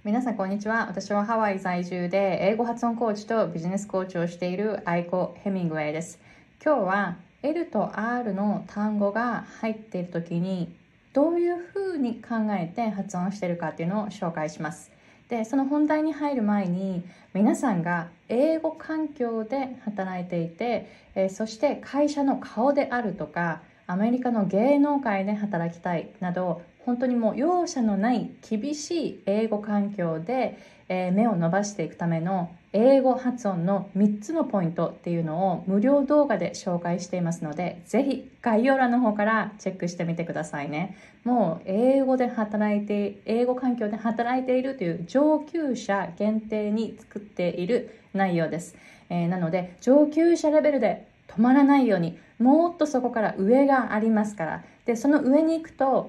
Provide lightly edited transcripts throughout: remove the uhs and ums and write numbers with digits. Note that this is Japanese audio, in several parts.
皆さんこんにちは。私はハワイ在住で英語発音コーチとビジネスコーチをしているアイコ・ヘミングウェイです。今日は L と R の単語が入っている時にどういうふうに考えて発音しているかっていうのを紹介します。で、その本題に入る前に皆さんが英語環境で働いていて、そして会社の顔であるとかアメリカの芸能界で働きたいなど本当にもう容赦のない厳しい英語環境で、目を伸ばしていくための英語発音の3つのポイントっていうのを無料動画で紹介していますので、ぜひ概要欄の方からチェックしてみてくださいね。もう英語環境で働いているという上級者限定に作っている内容です。なので上級者レベルで止まらないようにもっとそこから上がありますから。で、その上に行くと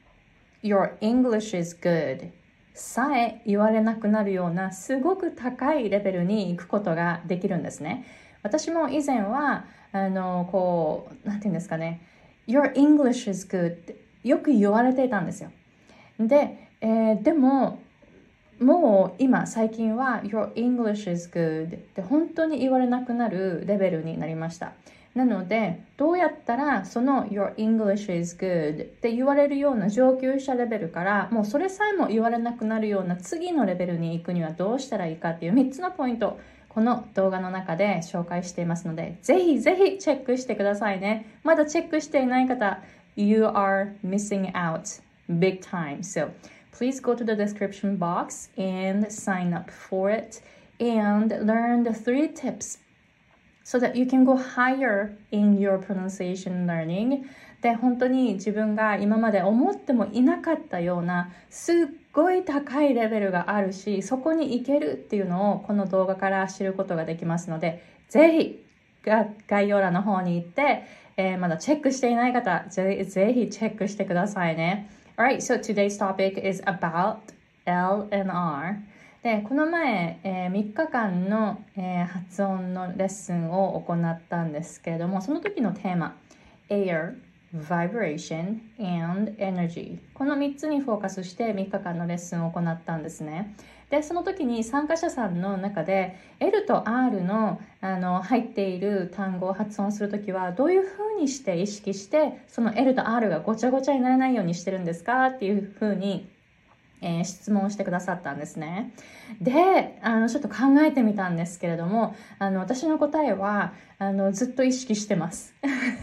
Your English is good さえ言われなくなるようなすごく高いレベルに行くことができるんですね。私も以前はなんていうんですかね Your English is good ってよく言われていたんですよ。で、でももう今最近は Your English is good って本当に言われなくなるレベルになりました。なのでどうやったらその Your English is good って言われるような上級者レベルからもうそれさえも言われなくなるような次のレベルに行くにはどうしたらいいかっていう3つのポイント、この動画の中で紹介していますので、ぜひぜひチェックしてくださいね。まだチェックしていない方 You are missing out big time. So please go to the description box and sign up for it and learn the 3 tips so that you can go higher in your pronunciation learning. で、本当に自分が今まで思ってもいなかったようなすっごい高いレベルがあるし、そこに行けるっていうのをこの動画から知ることができますので、ぜひ概要欄の方に行って、まだチェックしていない方、ぜひチェックしてくださいね。Alright, so today's topic is about L and R. で、この前、3日間の、発音のレッスンを行ったんですけれども、その時のテーマ Air, Vibration and Energy、 この3つにフォーカスして3日間のレッスンを行ったんですね。で、その時に参加者さんの中で L と R の、入っている単語を発音するときはどういうふうにして意識してその L と R がごちゃごちゃにならないようにしてるんですかっていうふうに質問をしてくださったんですね。で、ちょっと考えてみたんですけれども、私の答えはずっと意識してます。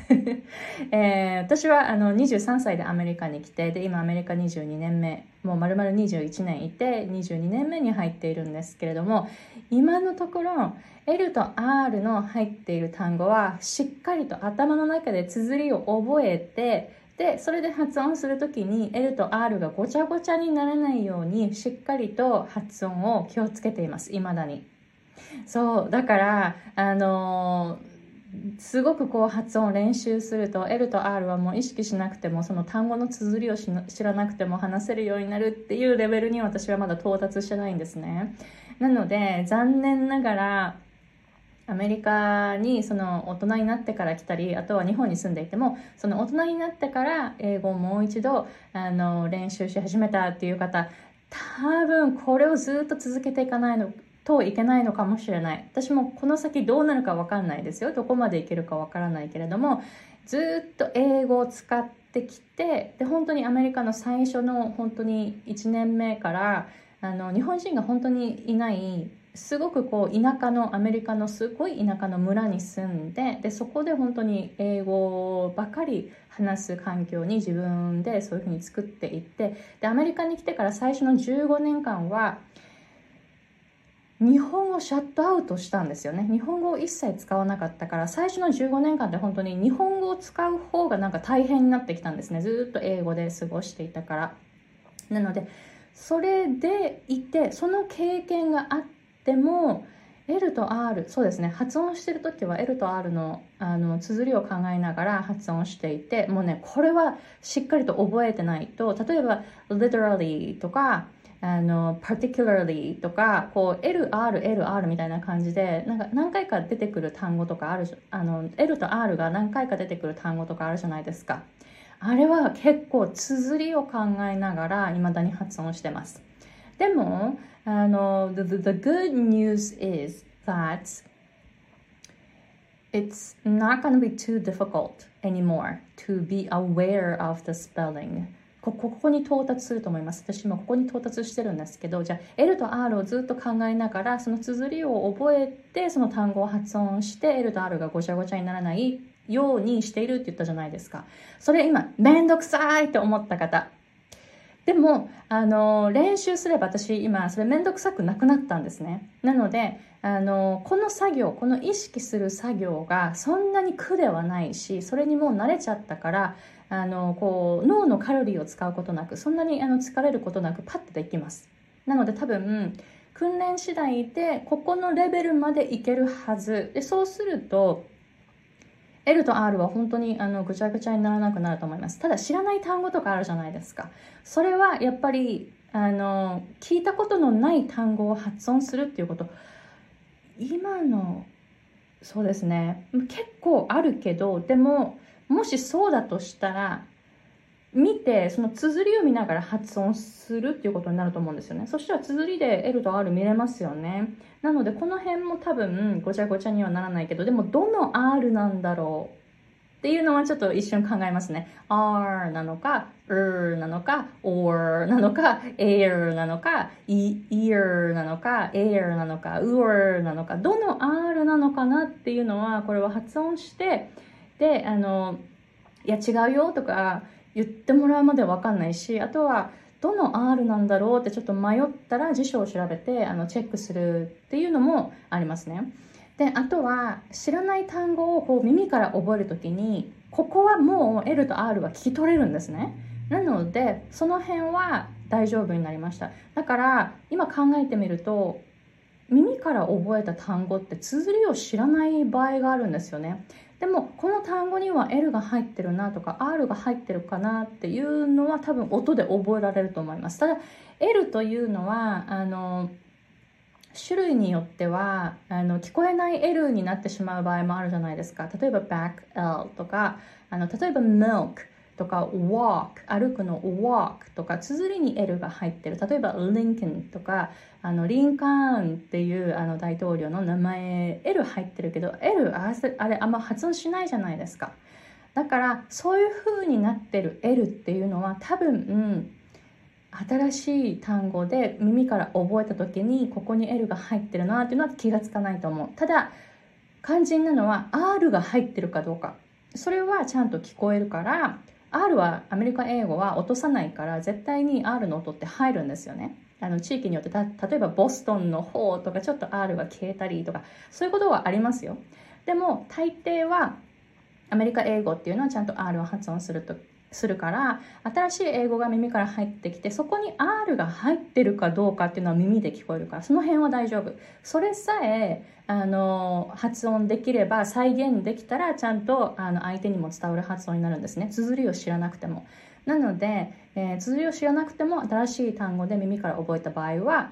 私は23歳でアメリカに来て、で今アメリカ22年目、もう丸々21年いて22年目に入っているんですけれども、今のところ L と R の入っている単語はしっかりと頭の中で綴りを覚えて、でそれで発音するときに L と R がごちゃごちゃにならないようにしっかりと発音を気をつけています、未だに。そうだからすごくこう発音を練習すると L と R はもう意識しなくてもその単語の綴りを知らなくても話せるようになるっていうレベルに私はまだ到達してないんですね。なので残念ながらアメリカにその大人になってから来たり、あとは日本に住んでいてもその大人になってから英語をもう一度練習し始めたっていう方、多分これをずっと続けていかないのといけないのかもしれない。私もこの先どうなるか分かんないですよ。どこまでいけるか分からないけれども、ずっと英語を使ってきて、で本当にアメリカの最初の本当に1年目から日本人が本当にいないすごくこう田舎のアメリカのすごい田舎の村に住んで、でそこで本当に英語ばかり話す環境に自分でそういうふうに作っていって、でアメリカに来てから最初の15年間は日本語をシャットアウトしたんですよね。日本語を一切使わなかったから、最初の15年間って本当に日本語を使う方がなんか大変になってきたんですね。ずっと英語で過ごしていたから。なのでそれでいて、その経験があっても L と R、 そうですね、発音してる時は L と R の綴りを考えながら発音していて、もうねこれはしっかりと覚えてないと、例えば literally とかparticularly とかこう LR みたいな感じでなんか何回か出てくる単語とかある、L と R が何回か出てくる単語とかあるじゃないですか。あれは結構綴りを考えながら未だに発音してます。 でも、the good news is that it's not going to be too difficult anymore to be aware of the spelling. ここに到達すると思います。私もここに到達してるんですけど、じゃあ L と R をずっと考えながら、その綴りを覚えて、その単語を発音して、L と R がごちゃごちゃにならないようにしているって言ったじゃないですか。それ今、めんどくさいって思った方。でも、練習すれば私今、それめんどくさくなくなったんですね。なので、この作業、この意識する作業がそんなに苦ではないし、それにもう慣れちゃったから、脳のカロリーを使うことなく、そんなに疲れることなくパッとできます。なので多分、訓練次第でここのレベルまでいけるはず。で、そうすると、L と R は本当にぐちゃぐちゃにならなくなると思います。ただ知らない単語とかあるじゃないですか。それはやっぱり聞いたことのない単語を発音するっていうこと、今のそうですね、結構あるけど、でももしそうだとしたら見て、その綴りを見ながら発音するっていうことになると思うんですよね。そしたら綴りで L と R 見れますよね。なのでこの辺も多分ごちゃごちゃにはならないけど、でもどの R なんだろうっていうのはちょっと一瞬考えますね。R なのか、なのか、or なのか、air なのか、ear なのか、air なのか、なのか、どの R なのかなっていうのは、これは発音して、で、いや違うよとか言ってもらうまでは分かんないし、あとはどの R なんだろうってちょっと迷ったら辞書を調べてチェックするっていうのもありますね。で、あとは知らない単語をこう耳から覚えるときに、ここはもう L と R は聞き取れるんですね。なのでその辺は大丈夫になりました。だから今考えてみると、耳から覚えた単語って綴りを知らない場合があるんですよね。でもこの単語には L が入ってるなとか R が入ってるかなっていうのは多分音で覚えられると思います。ただ L というのは種類によっては聞こえない L になってしまう場合もあるじゃないですか。例えば back L とか例えば milk とか walk 歩くの walk とか綴りに L が入ってる。例えば Lincoln とかリンカーンっていう大統領の名前 L 入ってるけど L あれあんま発音しないじゃないですか。だからそういう風になってる L っていうのは多分、新しい単語で耳から覚えた時にここに L が入ってるなっていうのは気がつかないと思う。ただ肝心なのは R が入ってるかどうか。それはちゃんと聞こえるから、 R はアメリカ英語は落とさないから絶対に R の音って入るんですよね。地域によって例えばボストンの方とかちょっと R が消えたりとかそういうことはありますよ。でも大抵はアメリカ英語っていうのはちゃんと R を発音するから新しい英語が耳から入ってきてそこに R が入ってるかどうかっていうのは耳で聞こえるからその辺は大丈夫。それさえ発音できれば再現できたらちゃんと相手にも伝わる発音になるんですね。綴りを知らなくても。なので、綴りを知らなくても新しい単語で耳から覚えた場合は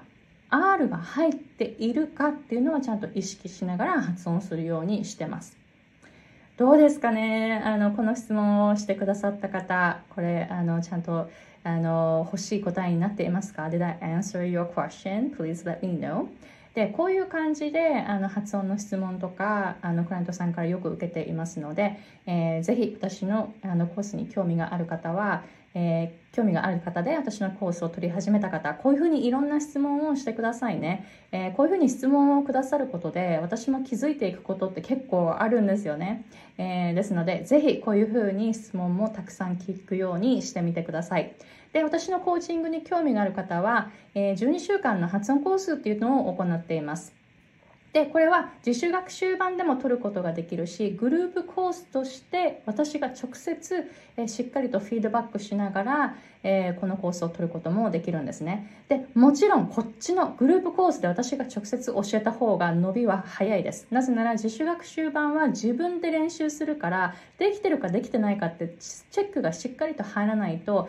R が入っているかっていうのはちゃんと意識しながら発音するようにしてます。どうですかね。この質問をしてくださった方、これちゃんと欲しい答えになっていますか？ Did I answer your question? Please let me know. で、こういう感じで発音の質問とかクライアントさんからよく受けていますので、ぜひ私のコースに興味がある方は、興味がある方で私のコースを取り始めた方、こういうふうにいろんな質問をしてくださいね。こういうふうに質問をくださることで私も気づいていくことって結構あるんですよね。ですのでぜひこういうふうに質問もたくさん聞くようにしてみてください。で、私のコーチングに興味がある方は、12週間の発音コースっていうのを行っています。で、これは自主学習版でも取ることができるし、グループコースとして私が直接しっかりとフィードバックしながらこのコースを取ることもできるんですね。で、もちろんこっちのグループコースで私が直接教えた方が伸びは早いです。なぜなら自主学習版は自分で練習するからできてるかできてないかってチェックがしっかりと入らないと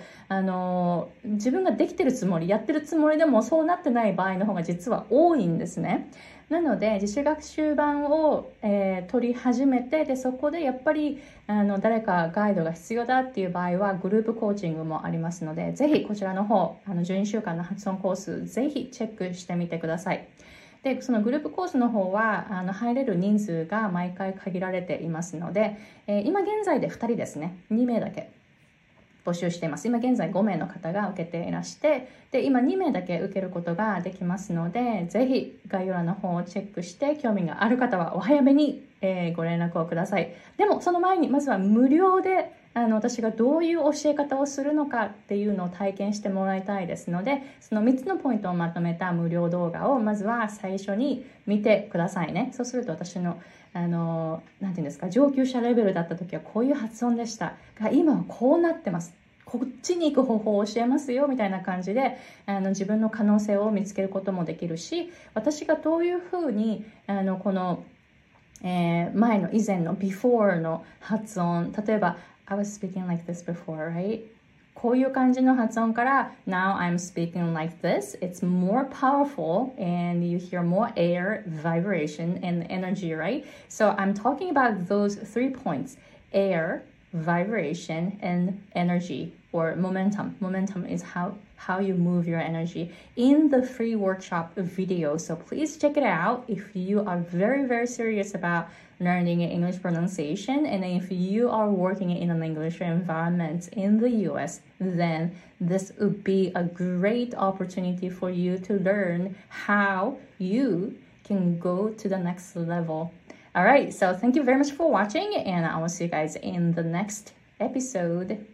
自分ができてるつもりやってるつもりでもそうなってない場合の方が実は多いんですね。 なので自主学習版を、取り始めて、でそこでやっぱり誰かガイドが必要だっていう場合はグループコーチングもありますので、ぜひこちらの方12週間の発音コースぜひチェックしてみてください。でそのグループコースの方は入れる人数が毎回限られていますので、今現在で2人ですね、2名だけ募集しています。今現在5名の方が受けていらして、で今2名だけ受けることができますので、ぜひ概要欄の方をチェックして興味がある方はお早めに、ご連絡をください。でもその前にまずは無料で私がどういう教え方をするのかっていうのを体験してもらいたいですので、その3つのポイントをまとめた無料動画をまずは最初に見てくださいね。そうすると私のなんていうんですか、上級者レベルだった時はこういう発音でしたが、今はこうなってます、こっちに行く方法を教えますよみたいな感じで自分の可能性を見つけることもできるし、私がどういうふうにこの、前の以前の before の発音、例えばI was speaking like this before, right? こういう感じの発音から Now I'm speaking like this. It's more powerful and you hear more air, vibration, and energy, right? So I'm talking about those 3 points: air, vibration, and energy, or momentum. Momentum is how you move your energy in the free workshop video. So please check it out if you are very, very serious about learning English pronunciation, and if you are working in an English environment in the US, then this would be a great opportunity for you to learn how you can go to the next level. All right, so thank you very much for watching, and I will see you guys in the next episode.